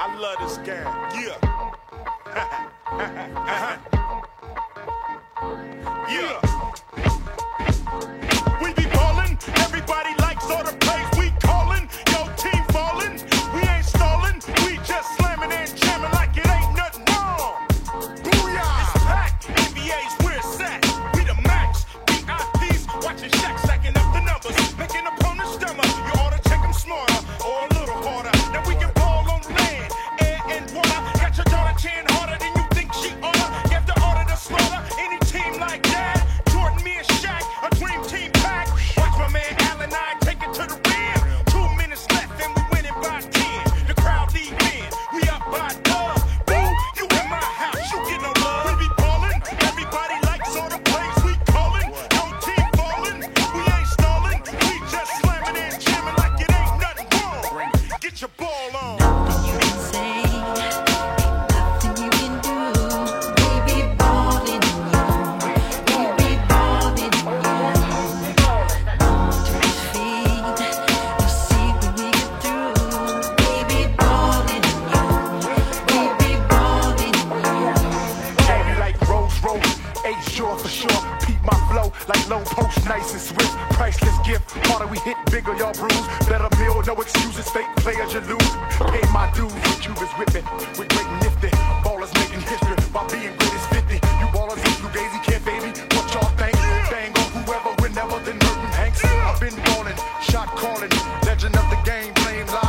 I love this game. Yeah. Yeah. We be ballin', everybody likes all the plays we callin'. Yo, team fallin', we ain't stallin', we just slammin' and jamming like it ain't nothing wrong. Booyah! It's packed, NBA's where it's at. We the max, VIPs, watching Shaq stacking up the numbers, making opponents stummer. You ought to check them smarter or a little harder. Now we can ball on land, air and water. Got your daughter cheering harder than you think she oughta. You have to order the slaughter. Any team like that, Jordan, me and Shaq, a dream team pack. Watch my man Allen, I take it to the rim. 2 minutes left and we winning by 10. The crowd lead in, we up by dub. Boo, you in my house, you get no love. We be ballin', everybody likes all the plays we callin'. No team fallin', we ain't stallin', we just slammin' and jamming like it ain't nothing wrong. Get your ball on. Nothing you can say, nothing you can do. We be ballin' in you, we be ballin' in you. Moment to his feet, you see when we get through. We be ballin' in you, we be ballin' in you. Candy like Rose Rose, A-Shore for sure. Peep my flow like low post, nice and swift. Priceless gift, harder we hit, bigger y'all bruise. Better meal, no excuses, fake players you lose. Pay my dues, with Cubans whipping. We're great and nifty, ballers making history. While being great is 50, you ballers in Fugazi can't baby. What y'all think? Bang on whoever, whenever, then Merton Hanks. I've been ballin', shot calling, legend of the game, blame live.